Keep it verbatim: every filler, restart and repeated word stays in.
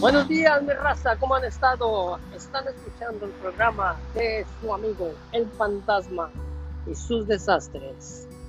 Buenos días, mi raza, ¿cómo han estado? Están escuchando el programa de su amigo El Fantasma y sus desastres.